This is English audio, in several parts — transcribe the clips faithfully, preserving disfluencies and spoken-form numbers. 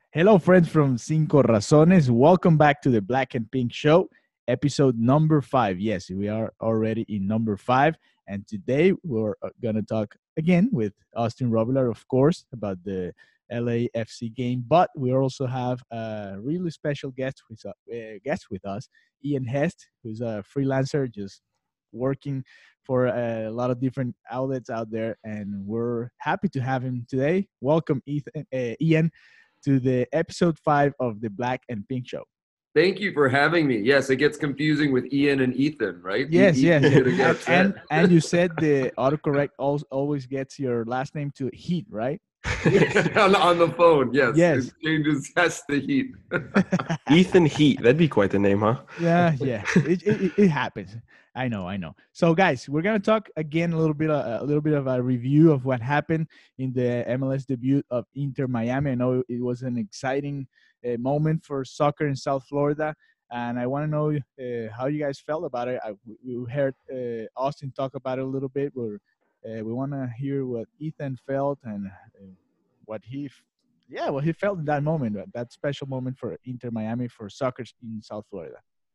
Hello, friends from Cinco Razones. Welcome back to the Black and Pink Show, episode number five. Yes, we are already in number five. And today we're going to talk again with Austin Robillard, of course, about the L A F C game. But we also have a really special guest with, uh, guest with us, Ian Hest, who's a freelancer just working for a lot of different outlets out there. And we're happy to have him today. Welcome, Ethan, uh, Ian, to the episode five of the Black and Pink Show. Thank you for having me. Yes, it gets confusing with Ian and Ethan, right? Yes, e- yes. and, and and you said the autocorrect always gets your last name to Heat, right? on, on the phone, yes. Yes. It changes Hess the Heat. Ethan Heat. That'd be quite the name, huh? Yeah, yeah. It, it, it happens. I know, I know. So, guys, we're gonna talk again a little bit, uh, a little bit of a review of what happened in the M L S debut of Inter Miami. I know it was an exciting uh, moment for soccer in South Florida, and I want to know uh, how you guys felt about it. I, we heard uh, Austin talk about it a little bit. We're, uh, we want to hear what Ethan felt and uh, what he, yeah, what he felt in that moment, that special moment for Inter Miami for soccer in South Florida.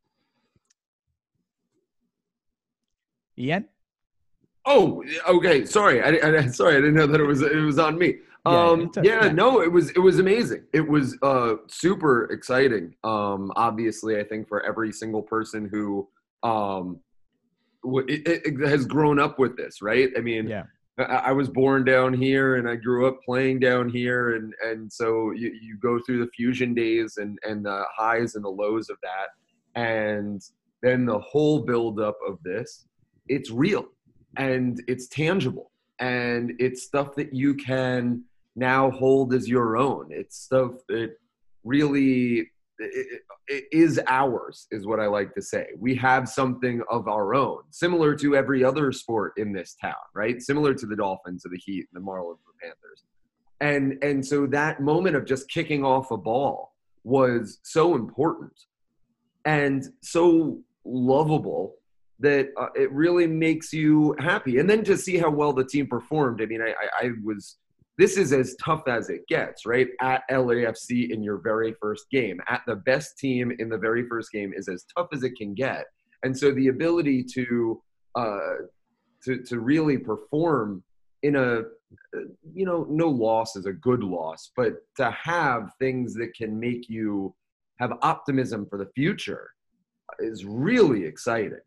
Ian? Oh, okay. Sorry, I, I sorry, I didn't know that it was it was on me. Um, yeah, yeah, yeah, no, it was it was amazing. It was uh, super exciting. Um, obviously, I think for every single person who um, it, it has grown up with this, right? I mean, yeah. I, I was born down here, and I grew up playing down here, and and so you, you go through the fusion days and and the highs and the lows of that, and then the whole buildup of this. It's real and it's tangible and it's stuff that you can now hold as your own. It's stuff that really it, it is ours, is what I like to say. We have something of our own, similar to every other sport in this town, right? Similar to the Dolphins, the Heat, the Marlins, the Panthers. And, and so that moment of just kicking off a ball was so important and so lovable that uh, it really makes you happy. And then to see how well the team performed. I mean, I, I, I was, this is as tough as it gets, right? At L A F C in your very first game, at the best team in the very first game is as tough as it can get. And so the ability to, uh, to, to really perform in a, you know, no loss is a good loss, but to have things that can make you have optimism for the future is really exciting.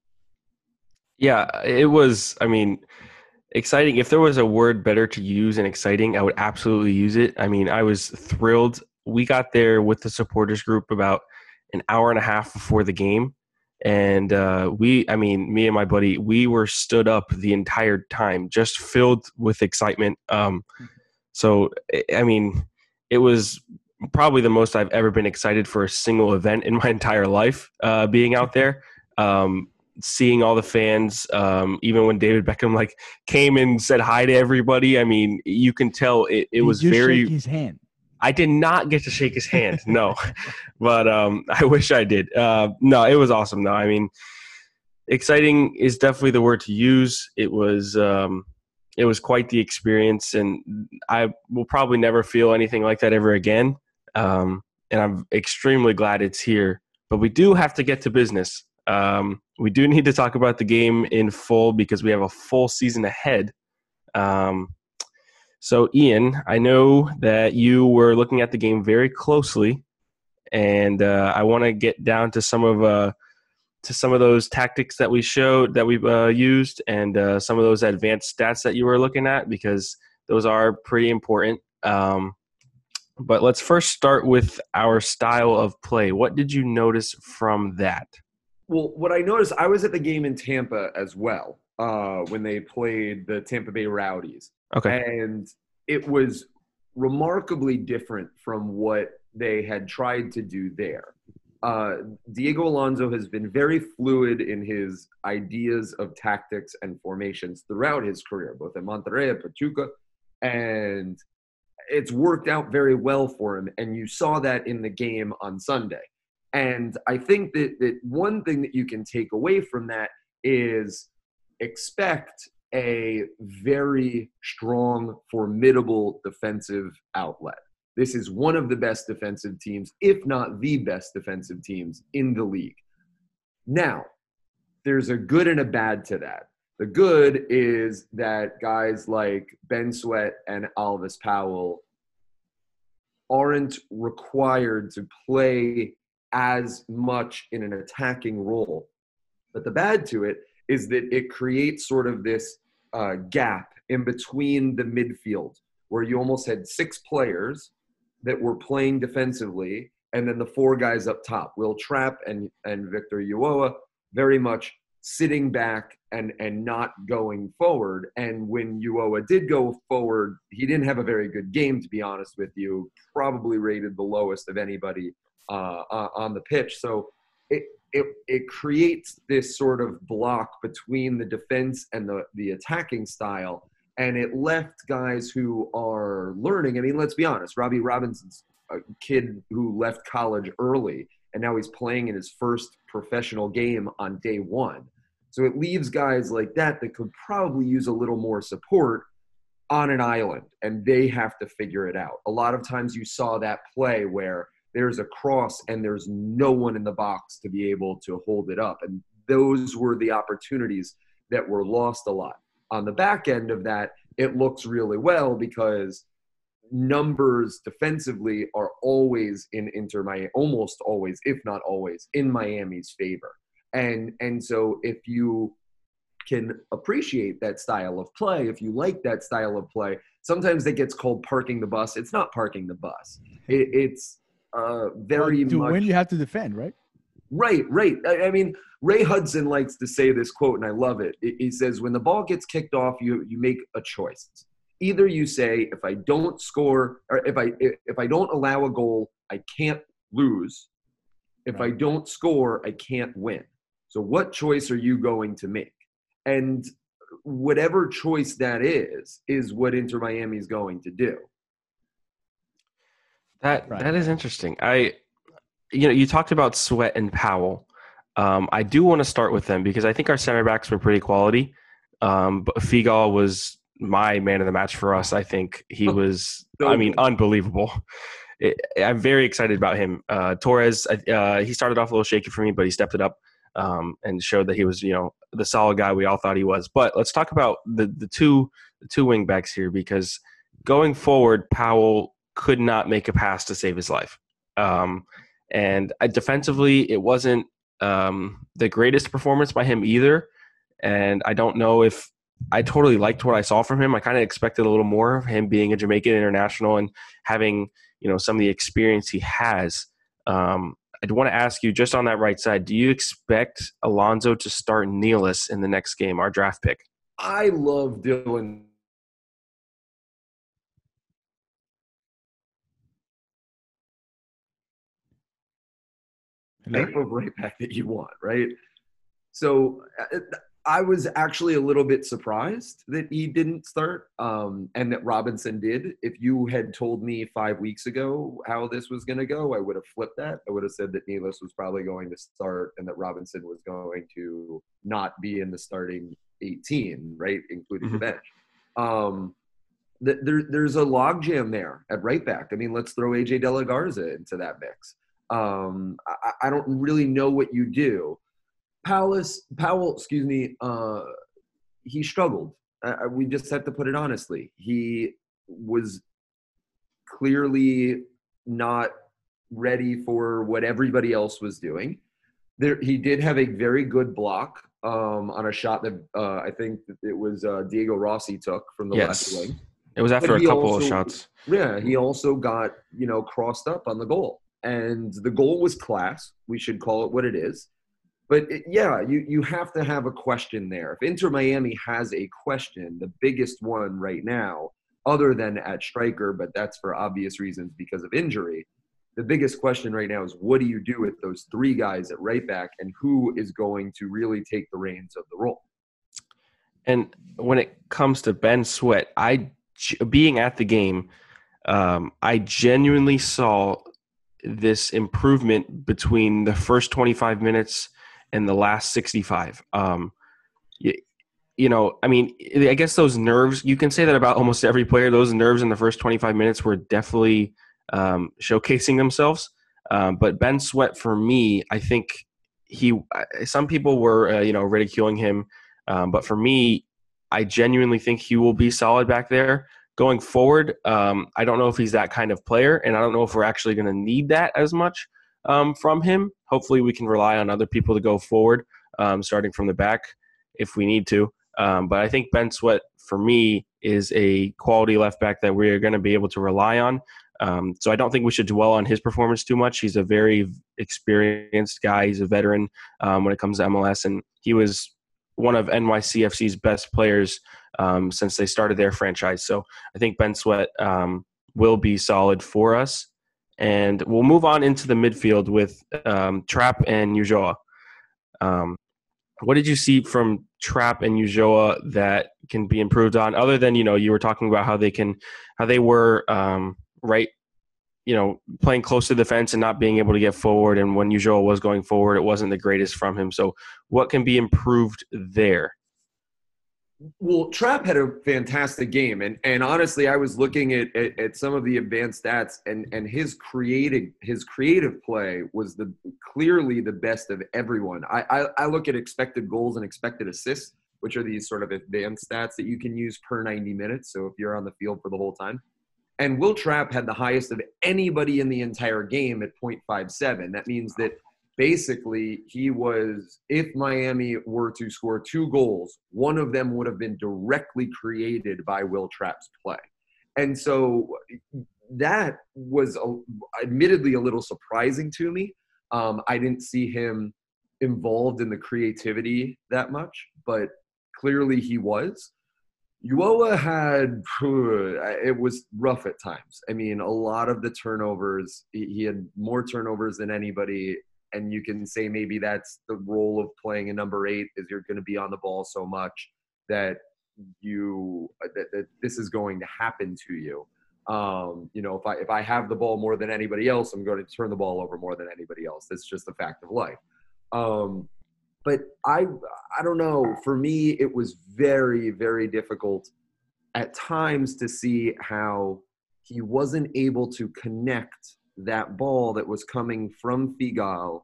Yeah, it was, I mean, exciting. If there was a word better to use than exciting, I would absolutely use it. I mean, I was thrilled. We got there with the supporters group about an hour and a half before the game. And uh, we, I mean, me and my buddy, we were stood up the entire time, just filled with excitement. Um, so, I mean, it was probably the most I've ever been excited for a single event in my entire life, uh, being out there. Um, seeing all the fans, um, even when David Beckham like came and said hi to everybody. I mean, you can tell it, it Did was you very. Shake his hand? I did not get to shake his hand, no, but um, I wish I did. Uh, no, it was awesome. though. I mean, exciting is definitely the word to use. It was um, it was quite the experience, and I will probably never feel anything like that ever again. Um, and I'm extremely glad it's here. But we do have to get to business. Um, we do need to talk about the game in full because we have a full season ahead. Um, so, Ian, I know that you were looking at the game very closely, and uh, I want to get down to some of uh, to some of those tactics that we showed that we uh, used, and uh, some of those advanced stats that you were looking at because those are pretty important. Um, but let's first start with our style of play. What did you notice from that? Well, what I noticed, I was at the game in Tampa as well uh, when they played the Tampa Bay Rowdies. Okay. And it was remarkably different from what they had tried to do there. Uh, Diego Alonso has been very fluid in his ideas of tactics and formations throughout his career, both in Monterrey and Pachuca. And it's worked out very well for him. And you saw that in the game on Sunday. And I think that, that one thing that you can take away from that is expect a very strong, formidable defensive outlet. This is one of the best defensive teams, if not the best defensive teams in the league. Now, there's a good and a bad to that. The good is that guys like Ben Sweat and Alvis Powell aren't required to play as much in an attacking role. But the bad to it is that it creates sort of this uh, gap in between the midfield where you almost had six players that were playing defensively and then the four guys up top, Will Trapp and, and Victor Ulloa, very much sitting back and, and not going forward. And when Ulloa did go forward, he didn't have a very good game, to be honest with you, probably rated the lowest of anybody uh, on the pitch. So it, it it creates this sort of block between the defense and the, the attacking style. And it left guys who are learning. I mean, let's be honest, Robbie Robinson's a kid who left college early, and now he's playing in his first professional game on day one. So it leaves guys like that that could probably use a little more support on an island, and they have to figure it out. A lot of times you saw that play where there's a cross and there's no one in the box to be able to hold it up. And those were the opportunities that were lost a lot. On the back end of that, it looks really well because numbers defensively are always in Inter Miami, almost always, if not always, in Miami's favor. And and so if you can appreciate that style of play, if you like that style of play, sometimes it gets called parking the bus. It's not parking the bus. It, it's uh, very well, to much – win, you have to defend, right? Right, right. I, I mean, Ray Hudson likes to say this quote, and I love it. He says, when the ball gets kicked off, you you make a choice. Either you say, if I don't score, or if I if I don't allow a goal, I can't lose. If right. I don't score, I can't win. So what choice are you going to make? And whatever choice that is, is what Inter Miami is going to do. That right. that is interesting. I, you know, you talked about Sweat and Powell. Um, I do want to start with them because I think our center backs were pretty quality. Um, but Figal was my man of the match for us. I think he was, I mean, unbelievable. It, I'm very excited about him. Uh, Torres, uh, he started off a little shaky for me, but he stepped it up um, and showed that he was, you know, the solid guy we all thought he was. But let's talk about the the two the two wing backs here, because going forward, Powell could not make a pass to save his life. Um, and I, defensively, it wasn't um, the greatest performance by him either. And I don't know if I totally liked what I saw from him. I kind of expected a little more of him being a Jamaican international and having, you know, some of the experience he has. Um, I'd want to ask you, just on that right side, do you expect Alonso to start Nealis in the next game, our draft pick? I love Dylan. Type of right back that you want, right? So I was actually a little bit surprised that he didn't start um, and that Robinson did. If you had told me five weeks ago how this was going to go, I would have flipped that. I would have said that Nealis was probably going to start and that Robinson was going to not be in the starting eighteen, right, including mm-hmm. the bench. Um, th- there, there's a logjam there at right back. I mean, let's throw A J De La Garza into that mix. Um, I, I don't really know what you do. Powell, Powell, excuse me, uh, he struggled. Uh, we just have to put it honestly. He was clearly not ready for what everybody else was doing. There, he did have a very good block um, on a shot that uh, I think it was uh, Diego Rossi took from the yes. left wing. It was after a couple also, of shots. Yeah, he also got, you know, crossed up on the goal. And the goal was class. We should call it what it is. But, it, yeah, you, you have to have a question there. If Inter Miami has a question, the biggest one right now, other than at striker, but that's for obvious reasons because of injury, the biggest question right now is what do you do with those three guys at right back and who is going to really take the reins of the role? And when it comes to Ben Sweat, I being at the game, um, I genuinely saw this improvement between the first twenty-five minutes and the last sixty-five. Um, you, you know, I mean, I guess those nerves, you can say that about almost every player. Those nerves in the first twenty-five minutes were definitely um, showcasing themselves. Um, but Ben Sweat, for me, I think he. Some people were, uh, you know, ridiculing him, um, but for me, I genuinely think he will be solid back there going forward. Um, I don't know if he's that kind of player, and I don't know if we're actually going to need that as much um, from him. Hopefully, we can rely on other people to go forward, um, starting from the back if we need to. Um, but I think Ben Sweat, for me, is a quality left back that we're going to be able to rely on. Um, so I don't think we should dwell on his performance too much. He's a very experienced guy. He's a veteran um, when it comes to M L S, and he was one of N Y C F C's best players um, since they started their franchise. So I think Ben Sweat um, will be solid for us. And we'll move on into the midfield with um, Trapp and Ulloa. Um, what did you see from Trapp and Ulloa that can be improved on, other than, you know, you were talking about how they can, how they were um, right, you know, playing close to the fence and not being able to get forward. And when Ulloa was going forward, it wasn't the greatest from him. So what can be improved there? Well, Trapp had a fantastic game, and and honestly, I was looking at, at, at some of the advanced stats, and and his creative his creative play was the clearly the best of everyone. I, I I look at expected goals and expected assists, which are these sort of advanced stats that you can use per ninety minutes. So if you're on the field for the whole time, and Will Trapp had the highest of anybody in the entire game at point five seven. That means that basically, he was, if Miami were to score two goals, one of them would have been directly created by Will Trapp's play. And so that was a, admittedly a little surprising to me. Um, I didn't see him involved in the creativity that much, but clearly he was. Ulloa had, it was rough at times. I mean, a lot of the turnovers, he had more turnovers than anybody. And you can say maybe that's the role of playing a number eight, is you're going to be on the ball so much that you that, that this is going to happen to you. Um, you know, if I if I have the ball more than anybody else, I'm going to turn the ball over more than anybody else. That's just a fact of life. Um, but I I don't know. For me, it was very, very difficult at times to see how he wasn't able to connect that ball that was coming from Figal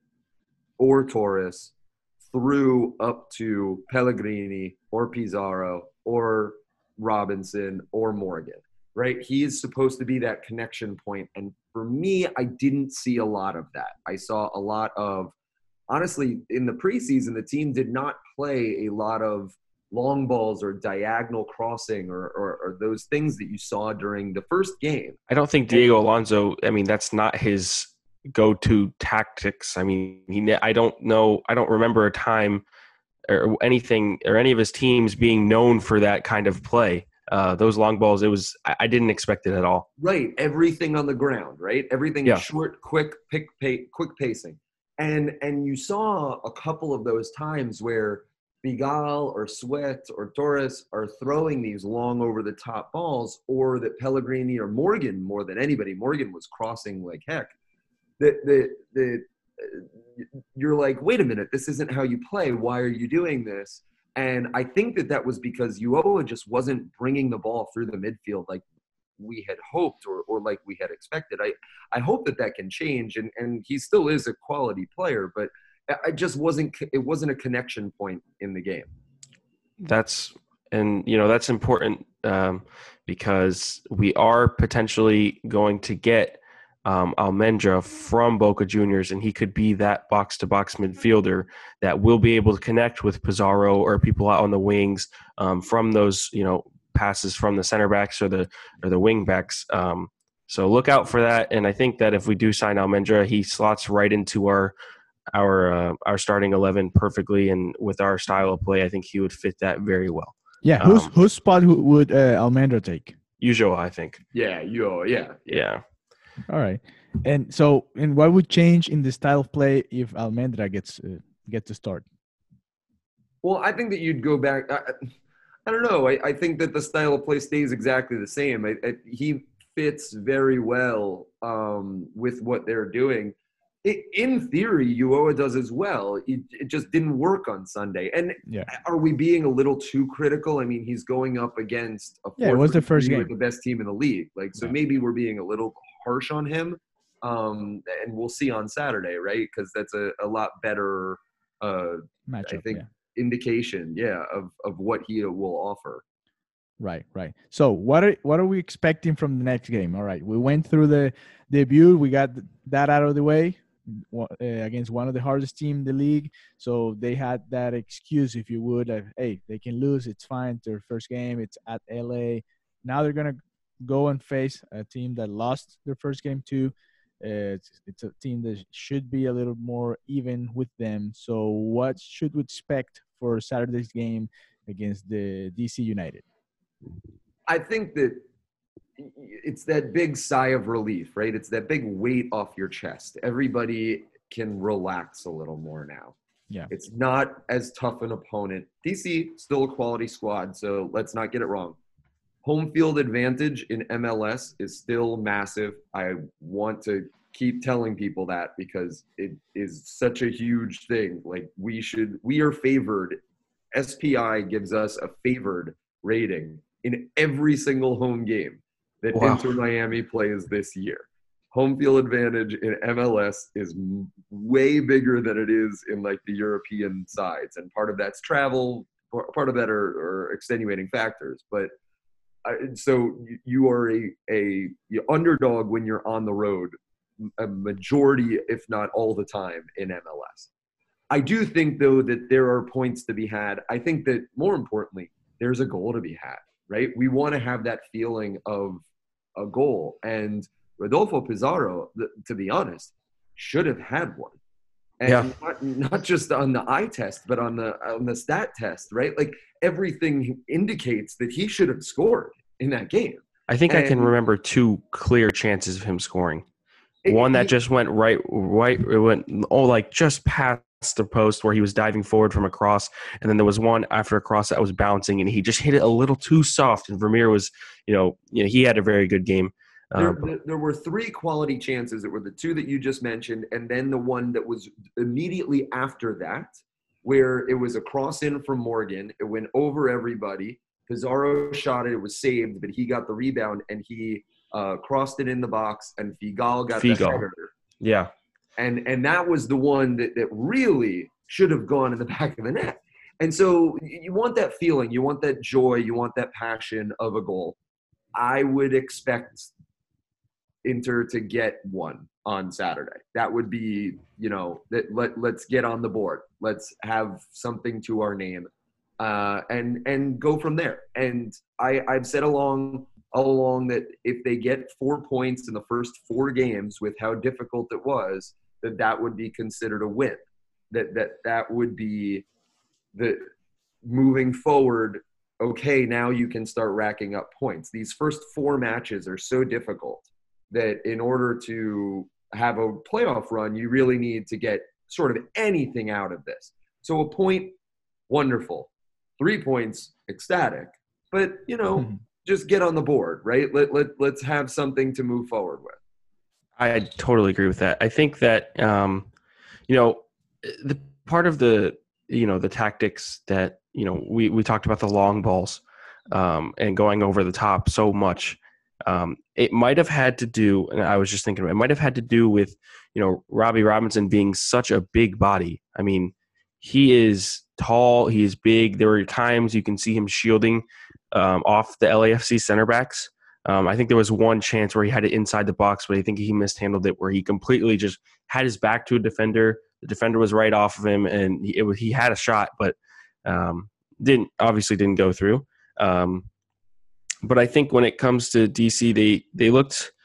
or Torres through up to Pellegrini or Pizarro or Robinson or Morgan, right? He is supposed to be that connection point. And for me, I didn't see a lot of that. I saw a lot of, honestly, in the preseason, the team did not play a lot of long balls or diagonal crossing or, or, or those things that you saw during the first game. I don't think Diego Alonso, I mean, that's not his go-to tactics. I mean, he, I don't know, I don't remember a time or anything or any of his teams being known for that kind of play. Uh, those long balls, it was, I, I didn't expect it at all. Right. Everything on the ground, right? Everything yeah. short, quick, pick, pay, quick pacing. And, and you saw a couple of those times where Figal or Sweat or Torres are throwing these long over-the-top balls, or that Pellegrini or Morgan, more than anybody, Morgan was crossing like heck. That the the you're like, wait a minute, this isn't how you play. Why are you doing this? And I think that that was because Ulloa just wasn't bringing the ball through the midfield like we had hoped or or like we had expected. I I hope that that can change, and and he still is a quality player, but I just wasn't, it wasn't a connection point in the game. That's, and you know, that's important um, because we are potentially going to get um, Almendra from Boca Juniors, and he could be that box to box midfielder that will be able to connect with Pizarro or people out on the wings um, from those, you know, passes from the center backs or the, or the wing backs. Um, so look out for that. And I think that if we do sign Almendra, he slots right into our, our uh, our starting eleven perfectly, and with our style of play, I think he would fit that very well. Yeah, whose um, whose spot would uh, Almendra take? Ulloa, I think. Yeah, Ulloa, yeah, yeah. All right, and so, and what would change in the style of play if Almendra gets uh, get to start? Well, I think that you'd go back. I, I don't know. I, I think that the style of play stays exactly the same. I, I, he fits very well um, with what they're doing. it, in theory, U O A does as well. It, it just didn't work on Sunday. And Yeah. are we being a little too critical? I mean, he's going up against a Yeah, it was the first with game. the best team in the league. Like, so Yeah. maybe we're being a little harsh on him. Um, and we'll see on Saturday, right? Because that's a, a lot better, uh, Matchup, I think, yeah. indication, yeah, of, of what he will offer. Right, right. So what are what are we expecting from the next game? All right, we went through the debut. We got that out of the way uh, against one of the hardest team in the league. So they had that excuse, if you would, of, hey, they can lose. It's fine. Their first game. It's at L A. Now they're gonna go and face a team that lost their first game too. Uh, it's, it's a team that should be a little more even with them. So what should we expect for Saturday's game against the D C United? I think that it's that big sigh of relief, right? It's that big weight off your chest. Everybody can relax a little more now. Yeah. It's not as tough an opponent. D C, still a quality squad, so let's not get it wrong. Home field advantage in M L S is still massive. I want to keep telling people that because it is such a huge thing. Like, we should, we are favored. S P I gives us a favored rating in every single home game that Wow. Inter Miami plays this year. Home field advantage in M L S is m- way bigger than it is in like the European sides. And part of that's travel, part of that are, are extenuating factors. But I, so you are a, a you underdog when you're on the road, a majority, if not all the time, in M L S. I do think, though, that there are points to be had. I think that more importantly, there's a goal to be had, right? We want to have that feeling of a goal. And Rodolfo Pizarro, to be honest, should have had one. And yeah. not, not just on the eye test, but on the on the stat test, right? Like, everything indicates that he should have scored in that game. I think and I can remember two clear chances of him scoring. It, one that he, just went right, right, it went, oh, like just past the post where he was diving forward from a cross. And then there was one after a cross that was bouncing and he just hit it a little too soft. And Vermeer was, you know, you know, he had a very good game. There, Uh, there, there were three quality chances that were the two that you just mentioned, and then the one that was immediately after that, where it was a cross in from Morgan. It went over everybody. Pizarro shot it. It was saved, but he got the rebound, and he uh, crossed it in the box, and Figal got Figal. the header. Yeah. And and that was the one that, that really should have gone in the back of the net. And so you want that feeling. You want that joy. You want that passion of a goal. I would expect Inter to get one on Saturday. That would be, you know, that let, let's get on the board. Let's have something to our name uh, and and go from there. And I, I've said along all along that if they get four points in the first four games with how difficult it was, that that would be considered a win. That that that would be the moving forward. Okay, now you can start racking up points. These first four matches are so difficult that in order to have a playoff run, you really need to get sort of anything out of this. So a point, wonderful. Three points, ecstatic. But, you know, mm-hmm. just get on the board, right? Let, let, let's have something to move forward with. I totally agree with that. I think that, um, you know, the part of the, you know, the tactics that, you know, we, we talked about the long balls um, and going over the top so much. Um, it might have had to do, and I was just thinking, it might have had to do with, you know, Robbie Robinson being such a big body. I mean, he is tall, he is big. There were times you can see him shielding um, off the L A F C center backs. Um, I think there was one chance where he had it inside the box, but I think he mishandled it, where he completely just had his back to a defender. The defender was right off of him, and he, it was, he had a shot, but um, didn't obviously didn't go through. Um, But I think when it comes to D C, they they looked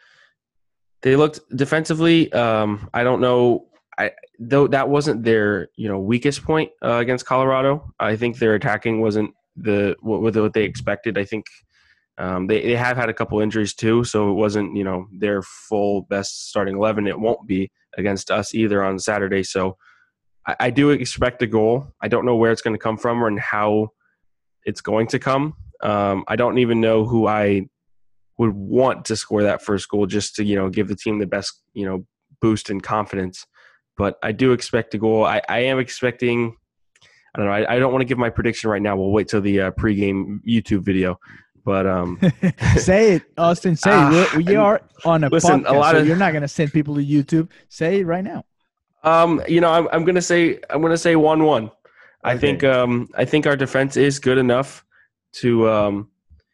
they looked defensively. Um, I don't know, I though that wasn't their you know weakest point uh, against Colorado. I think their attacking wasn't the what, what they expected. I think um, they they have had a couple injuries too, so it wasn't you know their full best starting eleven. It won't be against us either on Saturday. So I, I do expect a goal. I don't know where it's going to come from or and how it's going to come. Um, I don't even know who I would want to score that first goal just to, you know, give the team the best, you know, boost in confidence. but I do expect a goal. I, I am expecting. I don't know. I, I don't want to give my prediction right now. We'll wait till the uh, pregame YouTube video. But um, say it, Austin. Say uh, it. We, we are on a listen, podcast, a lot so of, you're not gonna send people to YouTube. Say it right now. Um, you know, I'm I'm gonna say I'm gonna say one one. Okay. I think um I think our defense is good enough to um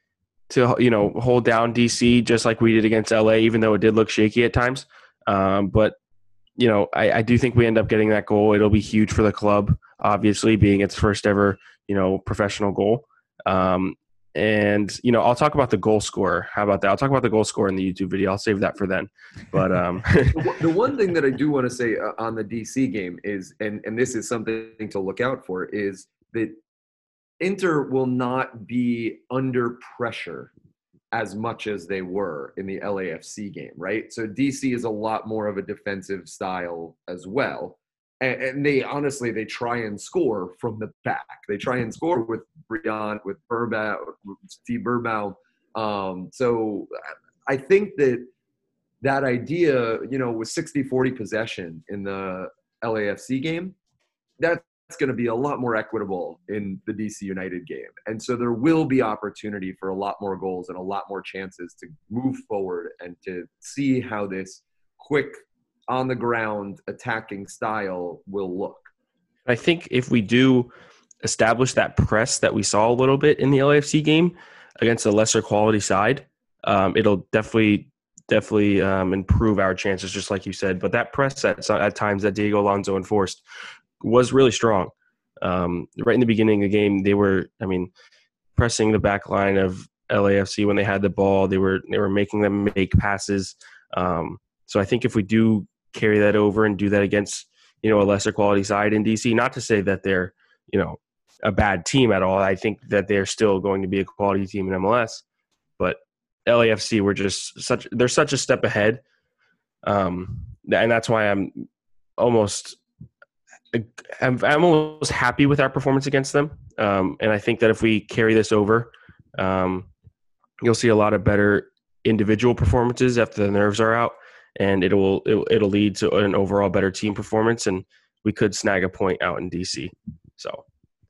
to you know hold down D C just like we did against L A, even though it did look shaky at times. Um, but you know, I, I do think we end up getting that goal. It'll be huge for the club, obviously, being its first ever you know professional goal. Um, And, you know, I'll talk about the goal scorer. How about that? I'll talk about the goal scorer in the YouTube video. I'll save that for then. But um, the, the one thing that I do want to say uh, on the D C game is, and, and this is something to look out for, is that Inter will not be under pressure as much as they were in the L A F C game, right? So D C is a lot more of a defensive style as well. And, and they honestly, they try and score from the back. They try and score with Brian, with Burbau, with Steve Burbau. Um, so I think that that idea, you know, with sixty forty possession in the L A F C game, that's going to be a lot more equitable in the D C United game. And so there will be opportunity for a lot more goals and a lot more chances to move forward and to see how this quick, on the ground attacking style will look. I think if we do establish that press that we saw a little bit in the L A F C game against a lesser quality side, um, it'll definitely definitely um, improve our chances, just like you said. But that press at, at times that Diego Alonso enforced was really strong. Um, right in the beginning of the game, they were, I mean, pressing the back line of L A F C when they had the ball. They were they were making them make passes. Um, so I think if we do carry that over and do that against, you know, a lesser quality side in D C. Not to say that they're, you know, a bad team at all. I think that they're still going to be a quality team in M L S. But L A F C, we're just such they're such a step ahead, um, and that's why I'm almost I'm, I'm almost happy with our performance against them. Um, and I think that if we carry this over, um, you'll see a lot of better individual performances after the nerves are out. And it'll it'll it'll lead to an overall better team performance, and we could snag a point out in D C. So,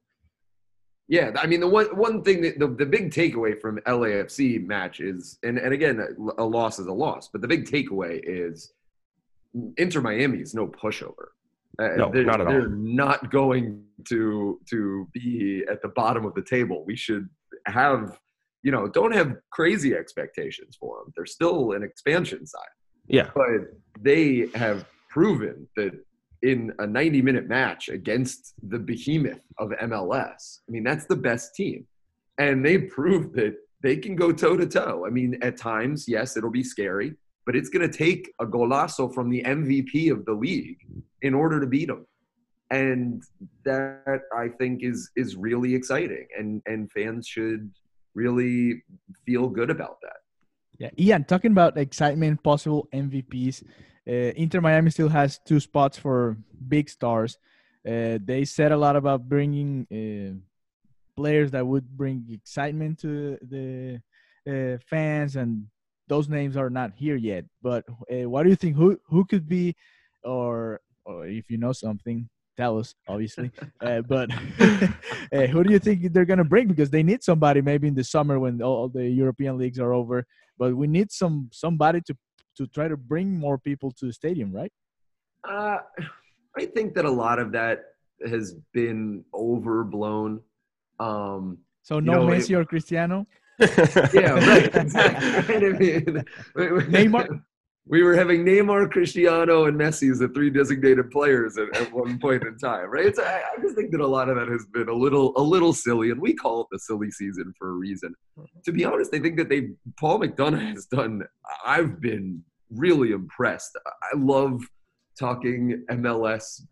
yeah, I mean the one one thing that the, the big takeaway from L A F C match is, and and again a loss is a loss, but the big takeaway is Inter Miami is no pushover. No, they're, not at all. They're not going to to be at the bottom of the table. We should have, you know, don't have crazy expectations for them. They're still an expansion side. Yeah. But they have proven that in a ninety-minute match against the behemoth of M L S, I mean, that's the best team. And they proved that they can go toe-to-toe. I mean, at times, yes, it'll be scary, but it's going to take a golazo from the M V P of the league in order to beat them. And that, I think, is is really exciting. And, and fans should really feel good about that. Yeah, Ian, talking about excitement, possible M V Ps, uh, Inter Miami still has two spots for big stars. Uh, they said a lot about bringing uh, players that would bring excitement to the uh, fans, and those names are not here yet. But uh, what do you think? Who who could be, or or if you know something, tell us, obviously. Uh, but uh, who do you think they're going to bring? Because they need somebody maybe in the summer when all the European leagues are over. But we need some somebody to to try to bring more people to the stadium, right? Uh, I think that a lot of that has been overblown. Um, so no know, Messi it, or Cristiano? Yeah, right. Exactly. Right? I mean, Neymar? We were having Neymar, Cristiano, and Messi as the three designated players at, at one point in time, right? It's, I, I just think that a lot of that has been a little, a little silly, and we call it the silly season for a reason. To be honest, I think that they, Paul McDonough has done. I've been really impressed. I love talking M L S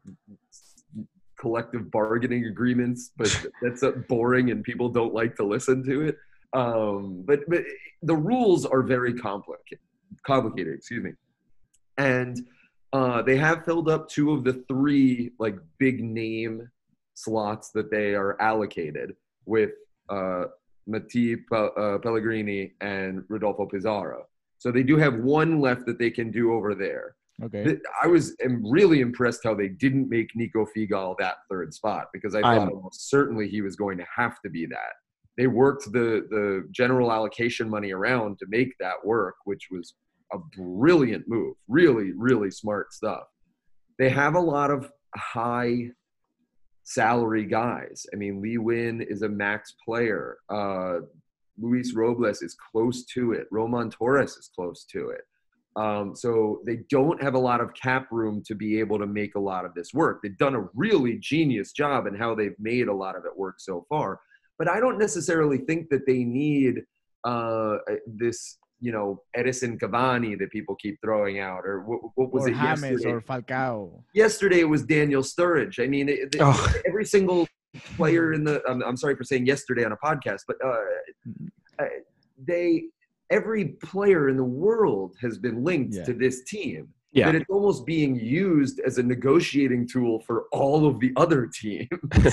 collective bargaining agreements, but that's boring, and people don't like to listen to it. Um, but but the rules are very complicated. complicated, excuse me. And uh, they have filled up two of the three like big name slots that they are allocated with uh, Matti uh, Pellegrini and Rodolfo Pizarro. So they do have one left that they can do over there. Okay. th- I was am really impressed how they didn't make Nico Figal that third spot, because I thought I'm- almost certainly he was going to have to be that. They worked the the general allocation money around to make that work, which was a brilliant move. Really, really smart stuff. They have a lot of high salary guys. I mean, Lee Win is a max player. Uh, Luis Robles is close to it. Roman Torres is close to it. Um, so they don't have a lot of cap room to be able to make a lot of this work. They've done a really genius job in how they've made a lot of it work so far. But I don't necessarily think that they need uh, this, you know, Edison Cavani that people keep throwing out, or what, what was or it James yesterday? or Falcao. Yesterday it was Daniel Sturridge. I mean, it, Oh. every single player in the I'm, I'm sorry for saying yesterday on a podcast, but uh, they every player in the world has been linked Yeah. to this team. Yeah. That it's almost being used as a negotiating tool for all of the other teams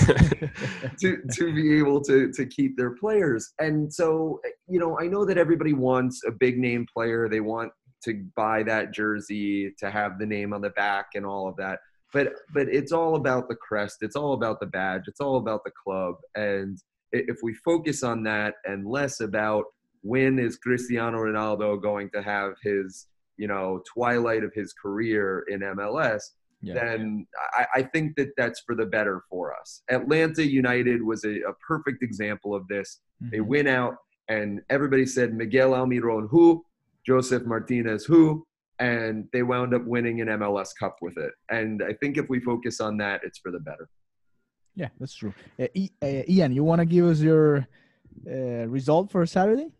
to to be able to to keep their players. And so, you know, I know that everybody wants a big name player. They want to buy that jersey, to have the name on the back and all of that. But but it's all about the crest. It's all about the badge. It's all about the club. And if we focus on that and less about when is Cristiano Ronaldo going to have his, you know, twilight of his career in M L S, Yeah. then I, I think that that's for the better for us. Atlanta United was a, a perfect example of this. They Mhm. went out and everybody said Miguel Almiron who, Joseph Martinez who, and they wound up winning an M L S Cup with it. And I think if we focus on that, it's for the better. Yeah, that's true. Uh, I- uh, Ian, you want to give us your uh, result for Saturday?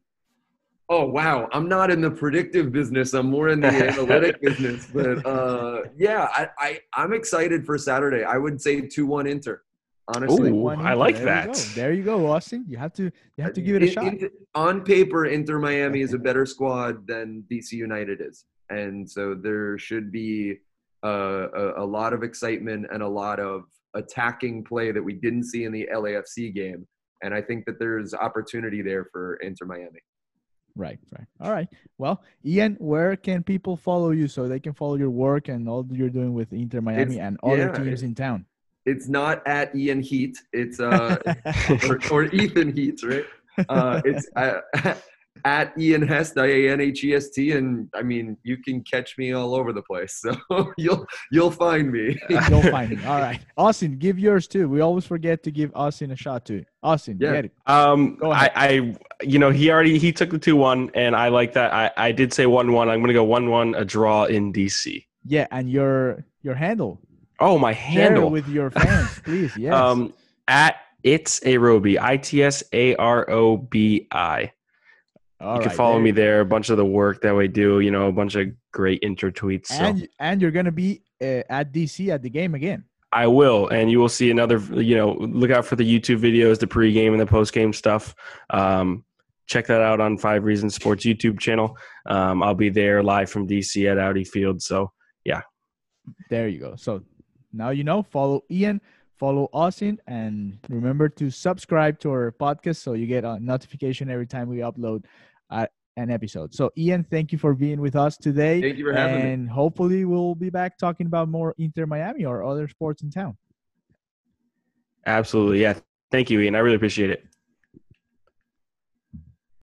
Oh, wow. I'm not in the predictive business. I'm more in the analytic business. But, uh, yeah, I, I, I'm excited for Saturday. I would say two one Inter, honestly. Ooh, One I Inter. like there that. You go. There you go, Austin. You have to you have to give it a In- shot. in- on paper, Inter Miami is a better squad than D C United is. And so there should be uh, a, a lot of excitement and a lot of attacking play that we didn't see in the L A F C game. And I think that there's opportunity there for Inter Miami. Right, right. All right. Well, Ian, where can people follow you so they can follow your work and all that you're doing with Inter Miami It's- and other yeah, teams it- in town? It's not at Ian Heat. It's uh, or, or Ethan Heat, right? Uh, it's uh, at Ian Hest, I A N H E S T, and I mean you can catch me all over the place, so you'll you'll find me. You'll find me. All right. Austin, give yours too. We always forget to give Austin a shot too. Austin, Yeah. get it. Um, Go I, ahead. I, you know, he already he took the two one, and I like that. I, I did say one one. I'm gonna go one one, a draw in D C. Yeah, and your your handle. Oh, my Share it handle. with your fans, please. Yes. Um, at it's Arobi, I T S A R O B I. All You can right, follow there me you go. there. A bunch of the work that we do, you know, a bunch of great inter tweets. So And and you're gonna be uh, at D C at the game again. I will, and you will see another. You know, look out for the YouTube videos, the pregame and the postgame stuff. Um, check that out on Five Reasons Sports YouTube channel. Um, I'll be there live from D C at Audi Field. So yeah, There you go. So now you know. Follow Ian, follow Austin, and remember to subscribe to our podcast so you get a notification every time we upload uh, an episode. So Ian, thank you for being with us today. Thank you for having me. And hopefully we'll be back talking about more Inter Miami or other sports in town. absolutely. Yeah, thank you, Ian. I really appreciate it.